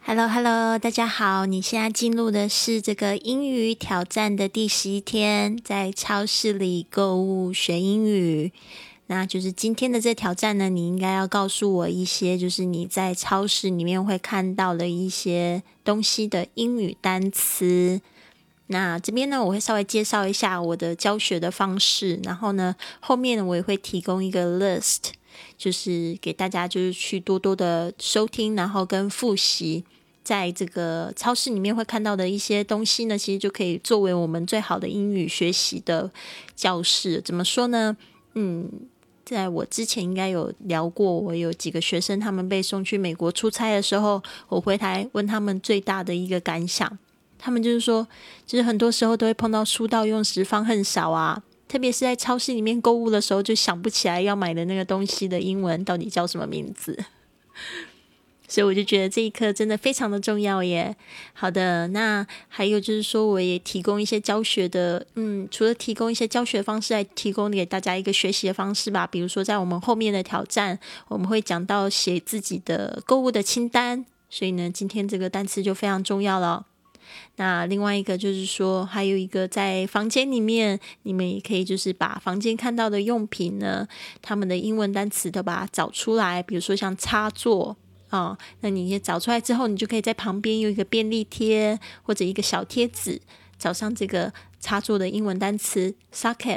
Hello， 大家好，你现在进入的是这个英语挑战的第11天，在超市里购物学英语。那就是今天的这挑战呢，你应该要告诉我一些就是你在超市里面会看到的一些东西的英语单词。那这边呢，我会稍微介绍一下我的教学的方式，然后呢，后面呢我也会提供一个 list， 就是给大家就是去多多的收听，然后跟复习。在这个超市里面会看到的一些东西呢，其实就可以作为我们最好的英语学习的教室。怎么说呢？在我之前应该有聊过，我有几个学生他们被送去美国出差的时候，我回台问他们最大的一个感想，他们就是说，就是很多时候都会碰到书到用时方恨少啊，特别是在超市里面购物的时候，就想不起来要买的那个东西的英文到底叫什么名字。所以我就觉得这一课真的非常的重要耶。好的，那还有就是说我也提供一些教学的，除了提供一些教学方式，来提供给大家一个学习的方式吧。比如说在我们后面的挑战，我们会讲到写自己的购物的清单，所以呢，今天这个单词就非常重要了。那另外一个就是说，还有一个在房间里面，你们也可以就是把房间看到的用品呢，他们的英文单词都把它找出来，比如说像插座。那你也找出来之后，你就可以在旁边用一个便利贴或者一个小贴纸，找上这个插座的英文单词 socket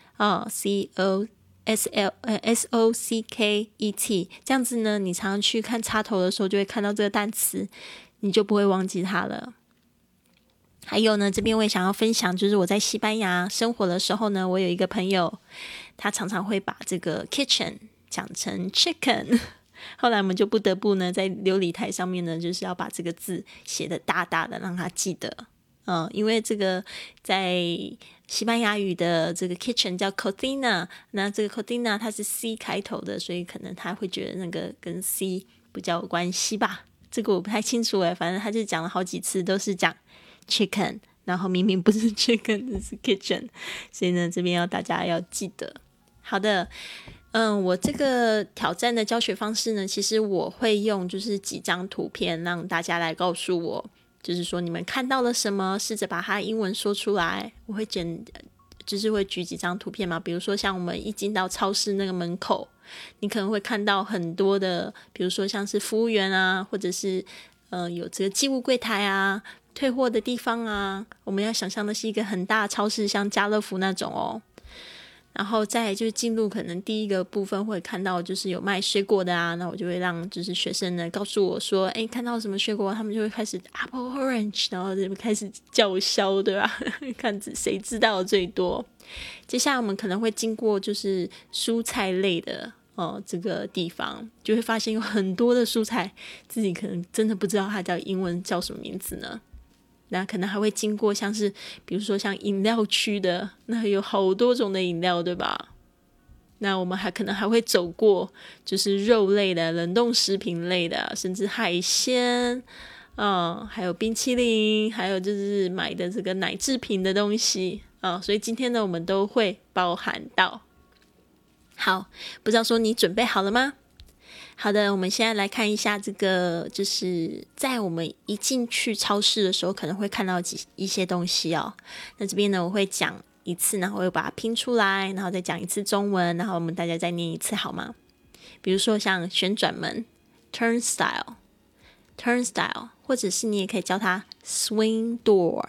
socket， 这样子呢，你常常去看插头的时候，就会看到这个单词，你就不会忘记它了。还有呢，这边我也想要分享，就是我在西班牙生活的时候呢，我有一个朋友，他常常会把这个 kitchen 讲成 chicken。后来我们就不得不呢，在流理台上面呢，就是要把这个字写得大大的，让他记得。因为这个在西班牙语的这个 kitchen 叫 cocina， 那这个 cocina 它是 C 开头的，所以可能他会觉得那个跟 C 比较有关系吧。这个我不太清楚反正他就讲了好几次都是讲 chicken， 然后明明不是 chicken， 是 kitchen， 所以呢，这边大家要记得。好的。我这个挑战的教学方式呢，其实我会用就是几张图片让大家来告诉我，就是说你们看到了什么，试着把它英文说出来。我会就是会举几张图片嘛，比如说像我们一进到超市那个门口，你可能会看到很多的，比如说像是服务员啊，或者是有这个寄物柜台啊，退货的地方啊，我们要想象的是一个很大的超市，像家乐福那种哦。然后再来就是进入可能第一个部分会看到就是有卖水果的啊，那我就会让就是学生呢告诉我说，看到什么水果，他们就会开始 apple orange， 然后就开始叫嚣，对吧？看谁知道最多。接下来我们可能会经过就是蔬菜类的这个地方，就会发现有很多的蔬菜自己可能真的不知道它叫英文叫什么名字呢。那可能还会经过像是比如说像饮料区的，那有好多种的饮料，对吧？那我们可能还会走过就是肉类的、冷冻食品类的，甚至海鲜还有冰淇淋，还有就是买的这个奶制品的东西所以今天呢我们都会包含到。好，不知道说你准备好了吗？好的，我们现在来看一下这个，就是在我们一进去超市的时候可能会看到一些东西哦。那这边呢我会讲一次，然后我会把它拼出来，然后再讲一次中文，然后我们大家再念一次好吗？比如说像旋转门 turnstile， 或者是你也可以叫它 swing door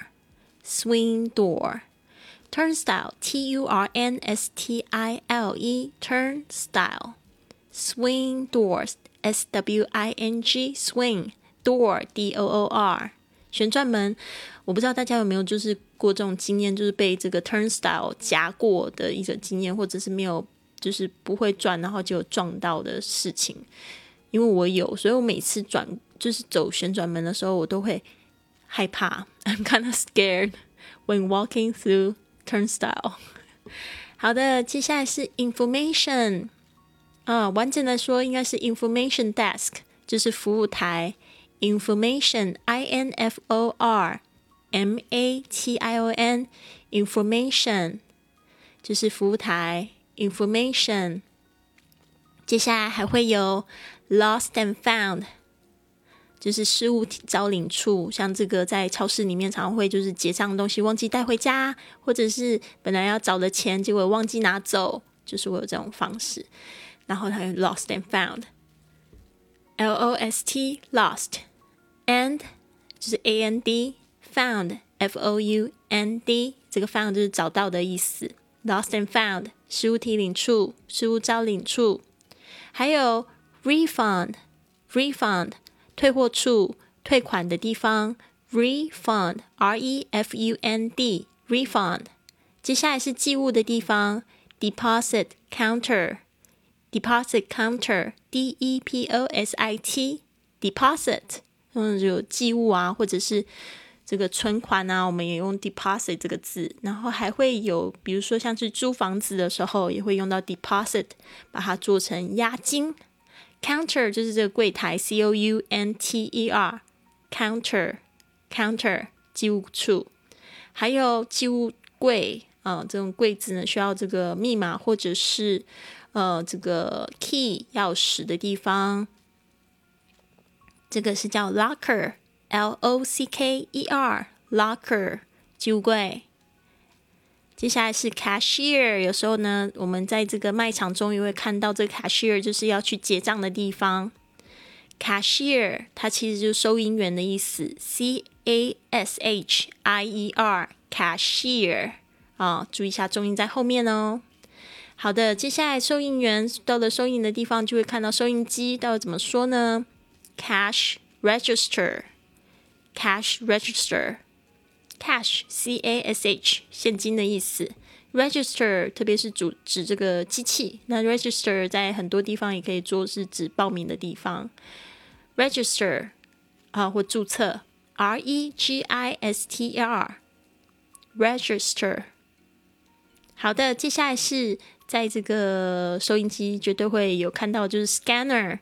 turnstile T-U-R-N-S-T-I-L-E turnstile swing doors S-W-I-N-G swing door D-O-O-R 旋转门。我不知道大家有没有就是过这种经验，就是被这个 turnstile 夹过的一个经验，或者是没有就是不会转然后就有撞到的事情。因为我有，所以我每次就是走旋转门的时候我都会害怕 I'm kind of scared when walking through turnstile 好的，接下来是 information完整的说应该是 information desk， 就是服务台 information I-N-F-O-R-M-A-T-I-O-N information 就是服务台 information。 接下来还会有 lost and found， 就是失物招领处，像这个在超市里面常会就是结账的东西忘记带回家，或者是本来要找的钱结果忘记拿走，就是会有这种方式。然后它有 lost and found， L-O-S-T lost and 就是 A-N-D found F-O-U-N-D， 这个 found 就是找到的意思。 lost and found 失物提领处，失物招领处。还有 refund 退货处，退款的地方 refund R-E-F-U-N-D refund。 接下来是寄物的地方 deposit counter D-E-P-O-S-I-T deposit， 有寄物啊，或者是这个存款啊，我们也用 deposit 这个字。然后还会有比如说像是租房子的时候也会用到 deposit， 把它做成押金。counter 就是这个柜台 C-O-U-N-T-E-R counter 寄物处。还有寄物柜这种柜子呢需要这个密码或者是这个 key 钥匙的地方，这个是叫 locker L-O-C-K-E-R locker 寄物柜。接下来是 cashier， 有时候呢我们在这个卖场中也会看到这个 cashier， 就是要去结账的地方。 cashier 它其实就是收银员的意思 C-A-S-H-I-E-R cashier 注意一下重音在后面哦。好的，接下来收银员到了收银的地方就会看到收银机，到底怎么说呢？ cash register cash C-A-S-H 现金的意思。 register 特别是指这个机器，那 register 在很多地方也可以做是指报名的地方。 register 或注册 R-E-G-I-S-T-E-R register。 好的，接下来是在这个收银机绝对会有看到就是 scanner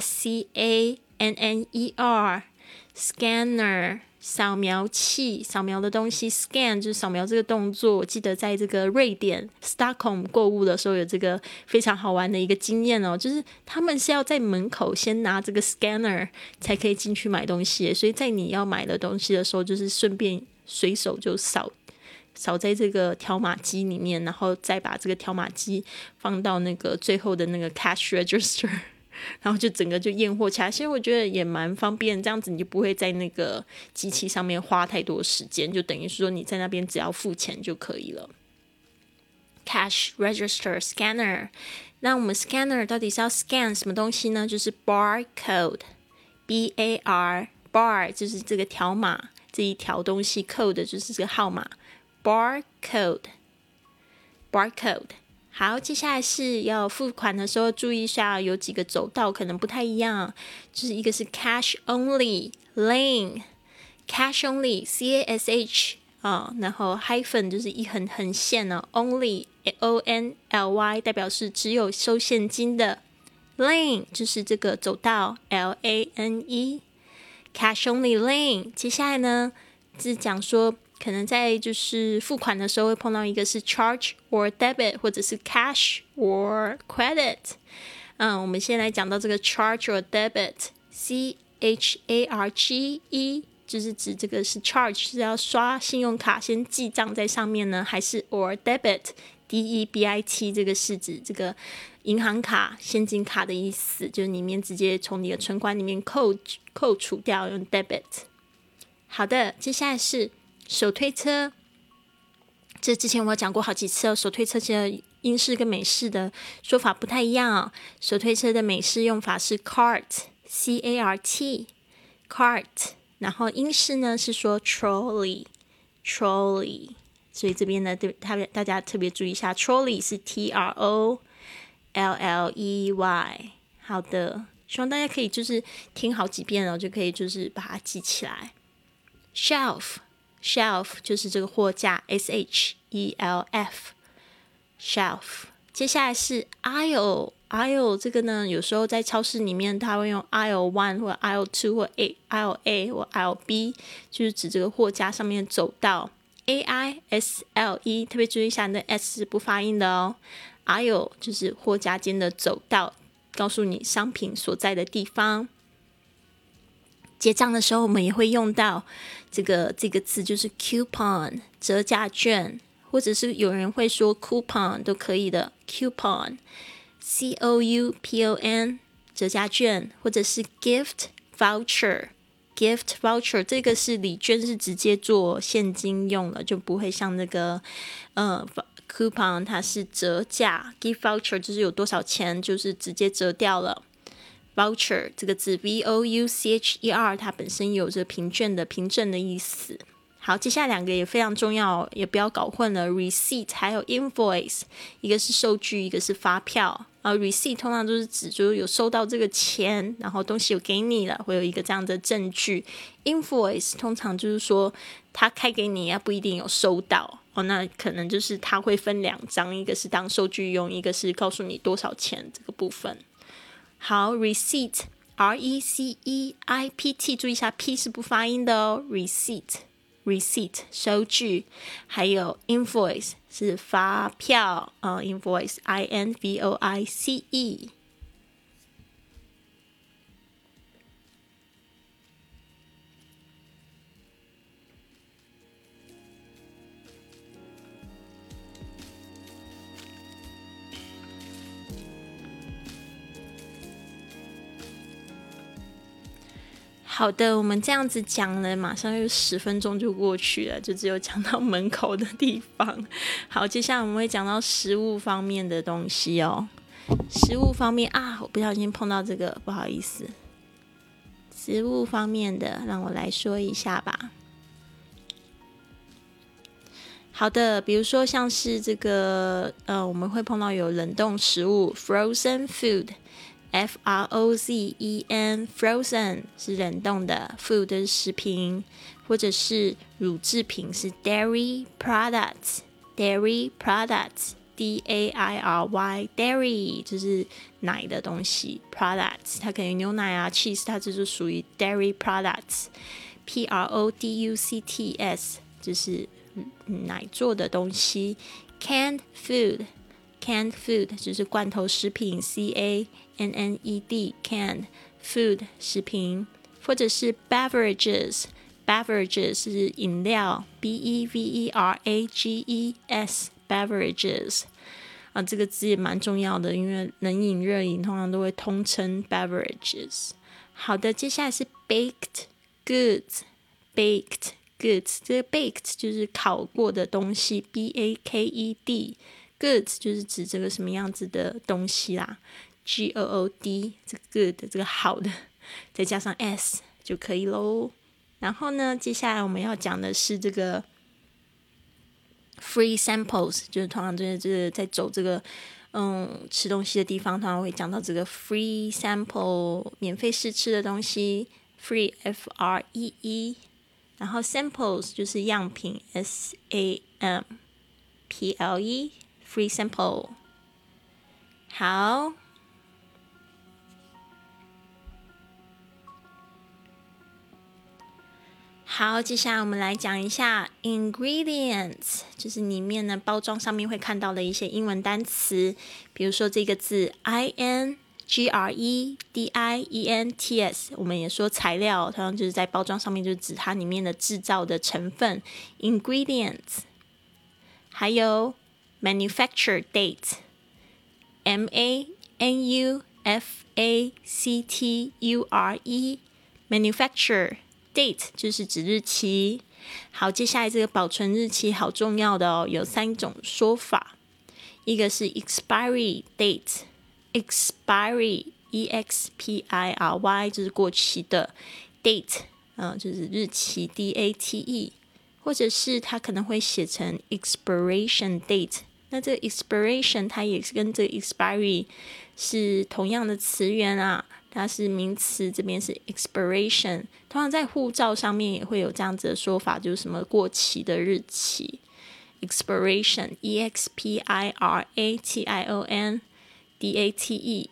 S-C-A-N-N-E-R scanner 扫描器，扫描的东西 scan 就是扫描这个动作。我记得在这个瑞典 Stockholm 购物的时候有这个非常好玩的一个经验就是他们是要在门口先拿这个 scanner 才可以进去买东西，所以在你要买的东西的时候就是顺便随手就扫在这个条码机里面，然后再把这个条码机放到那个最后的那个 cash register， 然后就整个就验货起来。其实我觉得也蛮方便，这样子你就不会在那个机器上面花太多时间，就等于说你在那边只要付钱就可以了。 cash register scanner。 那我们 scanner 到底是要 scan 什么东西呢？就是 barcode B-A-R bar 就是这个条码这一条东西， code 就是这个号码barcode。 好，接下来是要付款的时候注意一下，有几个走道可能不太一样，就是一个是 cash only lane cash only C-A-S-H 然后 hyphen 就是一横线only O-N-L-Y 代表是只有收现金的， lane 就是这个走道 L-A-N-E cash only lane。 接下来呢是讲说可能在就是付款的时候会碰到一个是 charge or debit 或者是 cash or credit。 我们先来讲到这个 charge or debit C-H-A-R-G-E 就是指这个是 charge 是要刷信用卡先记账在上面呢，还是 or debit D-E-B-I-T 这个是指这个银行卡现金卡的意思，就是里面直接从你的存款里面扣除掉，用 debit。 好的，接下来是手推车，这之前我有讲过好几次手推车其实英式跟美式的说法不太一样手推车的美式用法是 cart C-A-R-T cart， 然后英式呢是说 trolley， 所以这边呢大家特别注意一下， trolley 是 T-R-O-L-L-E-Y。 好的，希望大家可以就是听好几遍就可以就是把它记起来。shelf 就是这个货架 S-H-E-L-F shelf。 接下来是 aisle 这个呢有时候在超市里面它会用 aisle 1 或 aisle 2 或 aisle A 或 aisle B， 就是指这个货架上面走道 A-I-S-L-E， 特别注意一下那 S 是不发音的aisle 就是货架间的走道，告诉你商品所在的地方。 结账的时候我们也会用到这个字，就是 coupon 折价券，或者是有人会说 coupon 都可以的， coupon coupon 折价券，或者是 gift voucher 这个是礼券，是直接做现金用了，就不会像那个coupon 它是折价， gift voucher 就是有多少钱就是直接折掉了。voucher 这个字 voucher 它本身有这凭证的意思。好，接下来两个也非常重要，也不要搞混了 receipt 还有 invoice， 一个是收据，一个是发票。receipt 通常都是指就是有收到这个钱，然后东西有给你了，会有一个这样的证据。invoice 通常就是说他开给你不一定有收到那可能就是他会分2张，一个是当收据用，一个是告诉你多少钱这个部分。好 receipt RECEIPT 注意一下 P 是不发音的哦， receipt 收据，还有 invoice 是发票invoice INVOICE。好的，我们这样子讲了，马上又10分钟就过去了，就只有讲到门口的地方。好，接下来我们会讲到食物方面的东西哦。食物方面我不小心碰到这个，不好意思。食物方面的，让我来说一下吧。好的，比如说像是这个我们会碰到有冷冻食物 frozen food， FROZEN frozen 是冷冻的， food 是食品，或者是乳制品是 dairy products DAIRY dairy 就是奶的东西， products 它可以牛奶cheese 它就是属于 dairy products。 PRODUCTS 就是奶做的东西。 canned food 就是罐头食品 CANNED canned food 食品，或者是 beverages 是饮料 BEVERAGES beverages 这个字也蛮重要的，因为冷饮热饮通常都会通称 beverages。 好的，接下来是 baked goods 这个 baked 就是烤过的东西 BAKED goods 就是指这个什么样子的东西啦 GOOD 这个 good 这个好的再加上 S 就可以咯。然后呢，接下来我们要讲的是这个 free samples， 就是通常就是在走这个吃东西的地方，通常会讲到这个 free sample 免费试吃的东西 free FREE， 然后 samples 就是样品 SAMPLE free sample。 好，接下来我们来讲一下 ingredients， 就是里面呢包装上面会看到的一些英文单词，比如说这个字 INGREDIENTS， 我们也说材料，通常就是在包装上面就是指它里面的制造的成分 ingredients。 还有 manufacture date MANUFACTURE manufacture date 就是指日期。好，接下来这个保存日期好重要的哦，有3种说法，一个是 expiry date expiry EXPIRY 就是过期的 date 就是日期 DATE， 或者是它可能会写成 expiration date， 那这个 expiration 它也是跟这个 expiry 是同样的词源它是名词，这边是 expiration， 通常在护照上面也会有这样子的说法，就是什么过期的日期 expiration EXPIRATION DATE，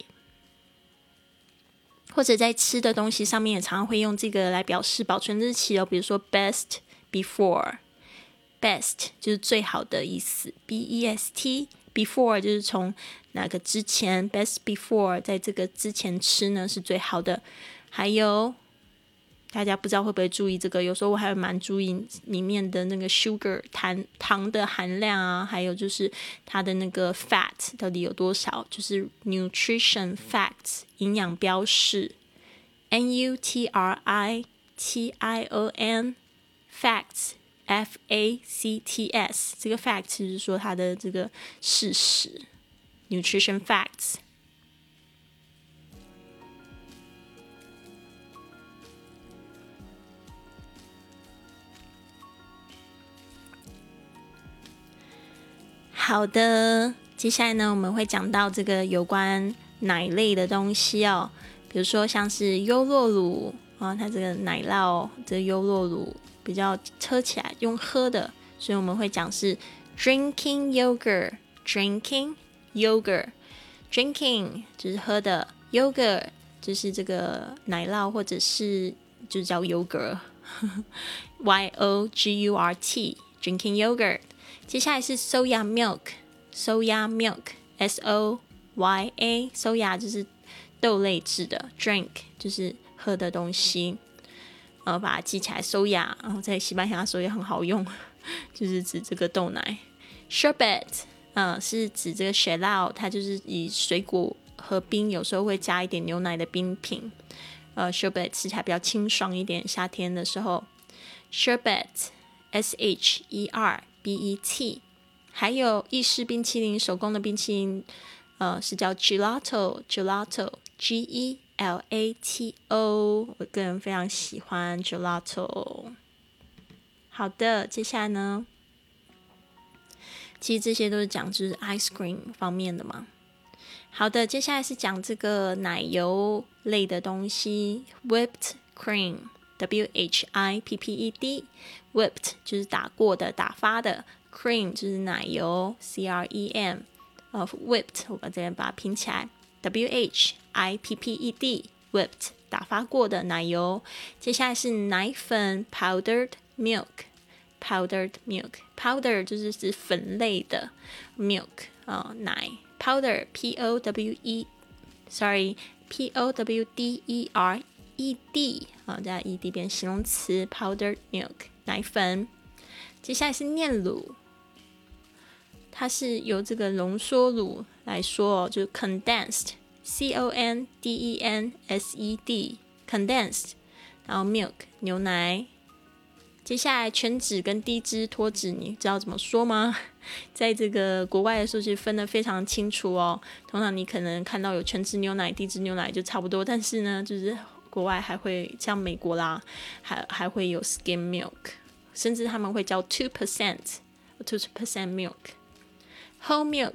或者在吃的东西上面也常常会用这个来表示保存日期比如说 best before best 就是最好的意思 BEST before 就是从哪个之前 best before 在这个之前吃呢是最好的。还有大家不知道会不会注意这个，有时候我还蛮注意里面的那个 sugar 糖的含量啊，还有就是它的那个 fat 到底有多少，就是 nutrition facts 营养标示 NUTRITION facts FACTS 这个 fact 就是说它的这个事实 nutrition facts。好的，接下来呢，我们会讲到这个有关奶类的东西哦，比如说像是优酪乳啊，它这个奶酪，这个优酪乳比较喝起来用喝的，所以我们会讲是 drinking yogurt，drinking yogurt，drinking 就是喝的 ，yogurt 就是这个奶酪或者是就是叫 yogurt YOGURT drinking yogurt。接下来是 soya milk，soya milk，SOYA， soya 就是豆类制的 ，drink 就是喝的东西，把它记起来 soya， 然后在西班牙的时候也很好用，就是指这个豆奶。sherbet， 是指这个雪酪，它就是以水果和冰，有时候会加一点牛奶的冰品。sherbet 吃起来比较清爽一点，夏天的时候。sherbet SHERBET， 还有意式冰淇淋，手工的冰淇淋，是叫 gelato GELATO， 我个人非常喜欢 gelato。好的，接下来呢，其实这些都是讲就是 ice cream 方面的嘛。好的，接下来是讲这个奶油类的东西 ，whipped cream。WHIPPED whipped 就是打过的打发的 cream 就是奶油 CREM whipped 我把这边把它拼起来 WHIPPED whipped 打发过的奶油。接下来是奶粉 powdered milk powder 就是指粉类的 milk 奶 powder POWDER ED 加 ED 变形容词 powdered milk 奶粉。接下来是炼乳，它是由这个浓缩乳来说，就是 condensed CONDENSED condensed， 然后 milk 牛奶。接下来全脂跟低脂脱脂，你知道怎么说吗？在这个国外的时候其实分得非常清楚哦。通常你可能看到有全脂牛奶、低脂牛奶就差不多，但是呢，就是国外还会像美国啦，还会有 skim milk， 甚至他们会叫 2% milk。 whole milk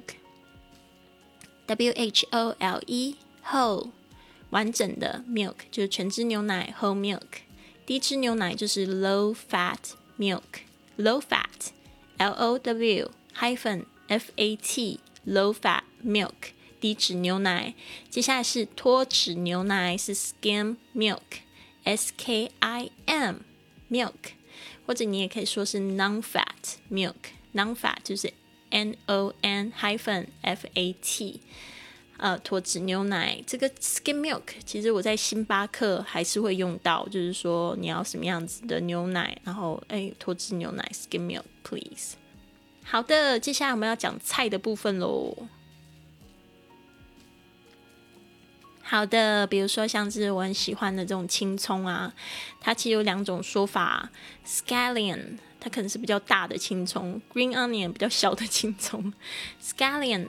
WHOLE whole 完整的 milk 就是全脂牛奶 whole milk。 低脂牛奶就是 low fat milk low fat LOW -FAT low fat milk低脂牛奶。接下来是脱脂牛奶，是 skim milk SKIM milk， 或者你也可以说是 non-fat milk non-fat 就是 NON-FAT 脱脂牛奶。这个 skim milk 其实我在星巴克还是会用到，就是说你要什么样子的牛奶，然后脱脂牛奶 skim milk please。 好的，接下来我们要讲菜的部分咯。好的，比如说像是我很喜欢的这种青葱啊，它其实有两种说法 scallion 它可能是比较大的青葱， green onion 比较小的青葱。scallion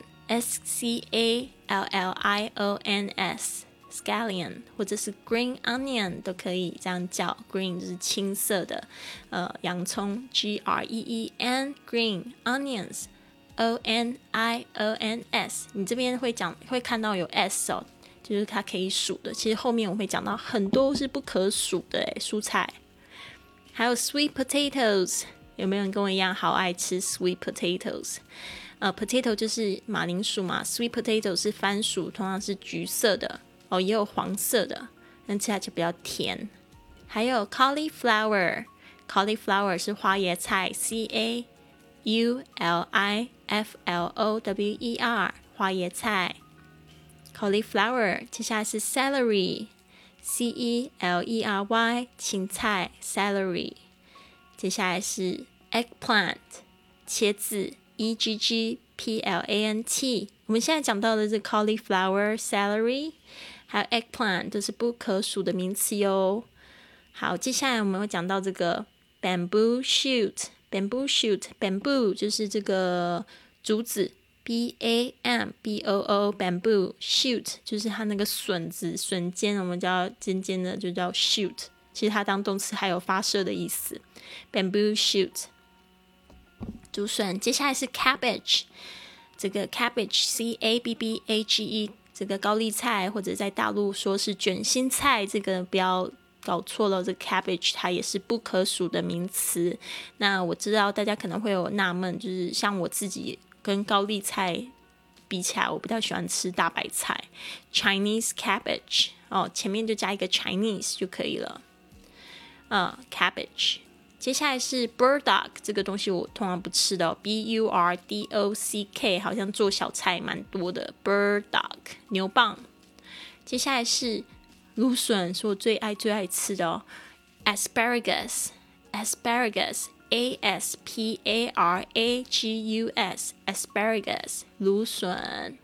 SCALLIONS scallion 或者是 green onion 都可以这样叫， green 就是青色的洋葱 GREEN green onions ONIONS 你这边会看到有 S 哦，就是它可以数的，其实后面我会讲到很多是不可数的蔬菜。还有 sweet potatoes， 有没有人跟我一样好爱吃 sweet potatoes？ potato 就是马铃薯嘛， sweet potato 是番薯，通常是橘色的也有黄色的，但吃起来就比较甜。还有 cauliflower 是花椰菜 CAULIFLOWER 花椰菜 cauliflower。 接下来是 celery celery 芹菜 celery。 接下来是 eggplant 茄子 eggplant。 我们现在讲到的是 cauliflower celery 还有 eggplant 都是不可数的名词哟。好，接下来我们会讲到这个 bamboo shoot。 bamboo 就是这个竹子 bamboo bamboo shoot 就是它那个笋尖，我们叫尖尖的就叫 shoot， 其实它当动词还有发射的意思。 bamboo shoot 竹笋。接下来是 cabbage， 这个 cabbage cabbage 这个高丽菜，或者在大陆说是卷心菜，这个不要搞错了，这个 cabbage 它也是不可数的名词。那我知道大家可能会有纳闷，就是像我自己跟高丽菜比起来，我比较喜欢吃大白菜 Chinese cabbage， 前面就加一个 Chinese 就可以了。cabbage。 接下来是 burdock， 这个东西我通常不吃的burdock 好像做小菜蛮多的 burdock 牛蒡。接下来是芦笋，是我最爱吃的asparagus asparagus 芦笋。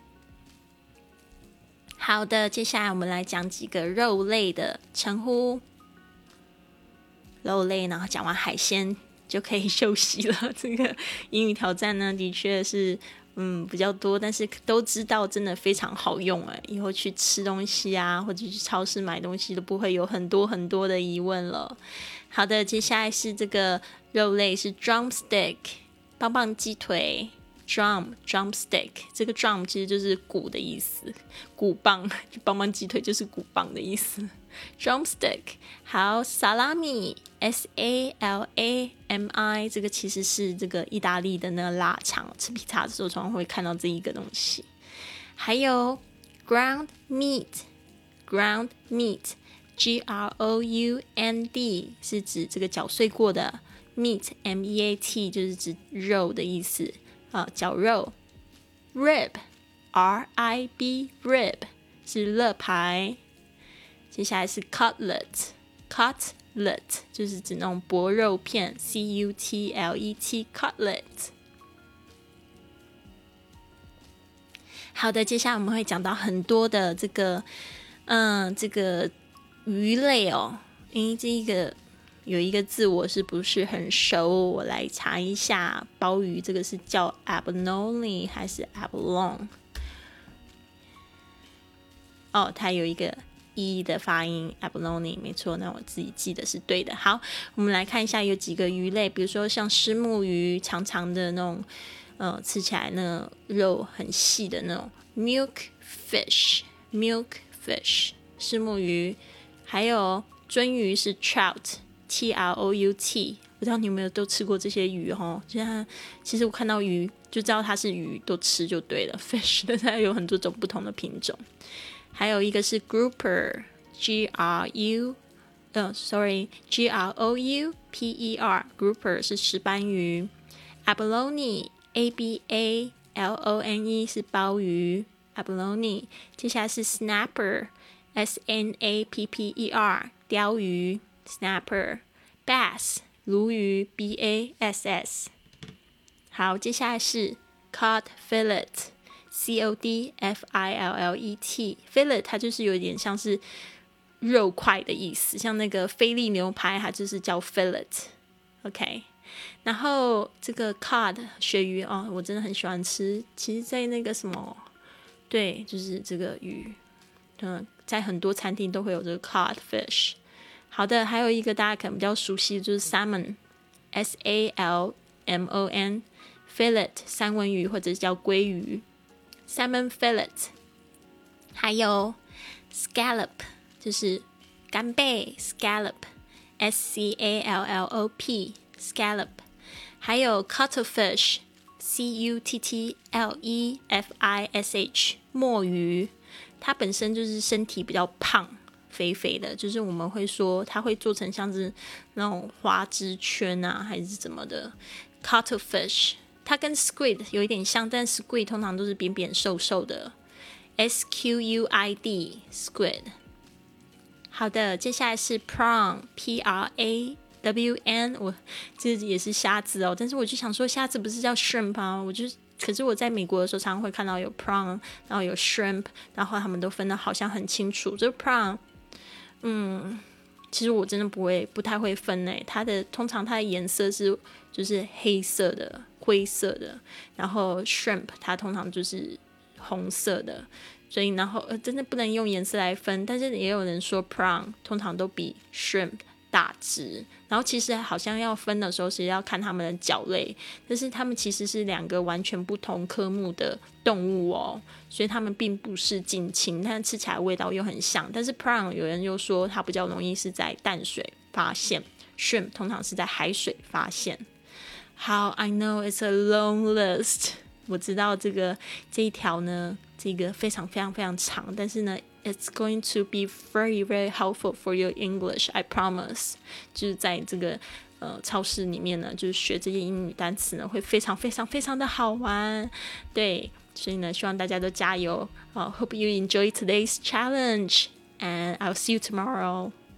好的，接下来我们来讲几个肉类的称呼。肉类，然后讲完海鲜就可以休息了。这个英语挑战呢，的确是比较多，但是都知道真的非常好用以后去吃东西啊，或者去超市买东西都不会有很多很多的疑问了。好的，接下来是这个肉类是 drumstick 棒棒鸡腿。drumstick 这个 drum 其实就是鼓的意思，鼓棒，棒棒鸡腿就是鼓棒的意思。drumstick。 好， salami salami 这个其实是这个意大利的那个腊肠，吃披萨的时候常常会看到这一个东西。还有 ground meat ground是指这个搅碎过的 meat meat 就是指肉的意思绞肉。 rib rib 是肋排。接下来是 cutlet 就是指那种薄肉片 cutlet cutlet。 好的，接下来我们会讲到很多的这个鱼类因为这个有一个字我是不是很熟，我来查一下。鲍鱼这个是叫 abalone 还是 abalone？ 它有一个 E 的发音 abalone 没错，那我自己记得是对的。好，我们来看一下有几个鱼类，比如说像虱目鱼，长长的那种吃起来那种肉很细的那种 milk fish 虱目鱼。还有鳟鱼是 trout Trout， 不知道你有没有都吃过这些鱼其实我看到鱼就知道它是鱼，都吃就对了。fish 的它有很多种不同的品种。还有一个是 grouper Grouper grouper 是石斑鱼。 abalone Abalone 是鲍鱼 abalone。 接下来是 snapper Snapper 鲷鱼 snapper。 bass 鲈鱼 bass。 好，接下来是 cod fillet cod fillet fillet 它就是有点像是肉块的意思，像那个菲力牛排它就是叫 fillet OK。 然后这个 cod 鳕鱼我真的很喜欢吃，其实在那个什么对，就是这个鱼在很多餐厅都会有这个 cod fish。 好的，还有一个大家可能比较熟悉的就是 salmon salmon fillet 三文鱼或者叫鲑鱼 salmon fillet。 还有 scallop 就是干贝 scallop scallop scallop。 还有 cuttlefish cuttlefish 墨鱼，它本身就是身体比较胖肥肥的，就是我们会说它会做成像是那种花枝圈还是怎么的 cuttlefish。 它跟 squid 有一点像，但 squid 通常都是扁扁瘦瘦的 squid squid。 好的，接下来是 prawn Prawn，我这也是虾子哦，但是我就想说虾子不是叫 shrimp 啊，可是我在美国的时候常常会看到有 prawn， 然后有 shrimp， 然后他们都分得好像很清楚。这 prawn， 其实我真的不太会分诶，通常它的颜色就是黑色的、灰色的，然后 shrimp 它通常就是红色的。所以然后真的不能用颜色来分，但是也有人说 prawn 通常都比 shrimp 大只，然后其实好像要分的时候是要看它们的脚类，但是它们其实是2个完全不同科目的动物哦，所以它们并不是近亲，但吃起来味道又很像。但是 prawn 有人又说它比较容易是在淡水发现， shrimp 通常是在海水发现。好 I know it's a long list， 我知道这一条呢，这个非常非常非常长，但是呢 it's going to be very very helpful for your English, I promise。 就是在这个超市里面呢，就是学这些英语单词呢会非常非常非常的好玩。对，所以呢希望大家都加油。Hope you enjoy today's challenge and I'll see you tomorrow.